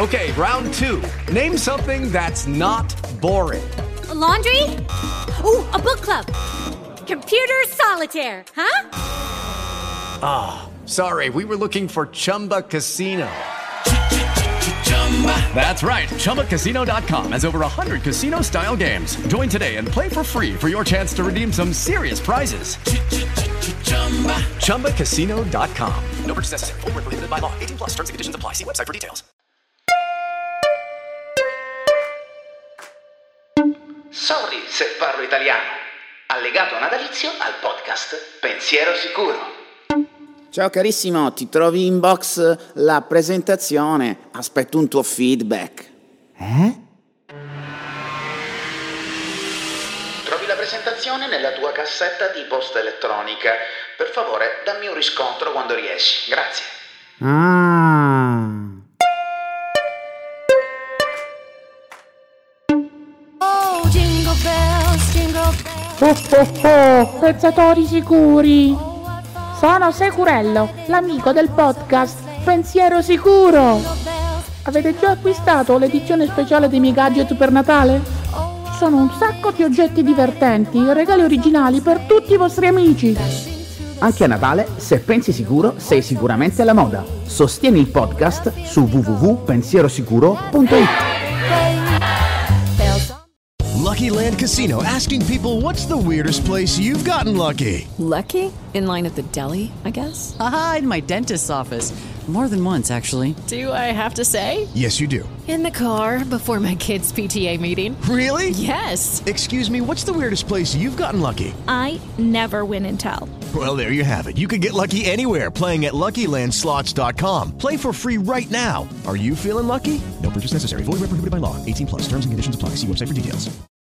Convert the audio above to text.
Okay, round 2. Name something that's not boring. A laundry? Ooh, a book club. Computer solitaire, huh? Ah, sorry, we were looking for Chumba Casino. That's right, ChumbaCasino.com has over 100 casino-style games. Join today and play for free for your chance to redeem some serious prizes. ChumbaCasino.com. No purchase necessary. Void where prohibited by law. 18 plus terms and conditions apply. See website for details. Sorry se parlo italiano. Allegato natalizio al podcast Pensiero Sicuro. Ciao carissimo, ti trovi in box la presentazione. Aspetto un tuo feedback. Trovi la presentazione nella tua cassetta di posta elettronica. Per favore, dammi un riscontro quando riesci. Grazie. Oh, jingle bells, jingle bells. Pensatori sicuri. Sono Securello, l'amico del podcast Pensiero Sicuro. Avete già acquistato l'edizione speciale dei miei gadget per Natale? Ci sono un sacco di oggetti divertenti e regali originali per tutti i vostri amici. Anche a Natale, se pensi sicuro, sei sicuramente alla moda. Sostieni il podcast su www.pensierosicuro.it. Lucky Land Casino, asking people, what's the weirdest place you've gotten lucky? Lucky? In line at the deli, I guess? Aha, in my dentist's office. More than once, actually. Do I have to say? Yes, you do. In the car before my kids' PTA meeting. Really? Yes. Excuse me, what's the weirdest place you've gotten lucky? I never win and tell. Well, there you have it. You can get lucky anywhere, playing at LuckyLandSlots.com. Play for free right now. Are you feeling lucky? No purchase necessary. Void where prohibited by law. 18 plus. Terms and conditions apply. See website for details.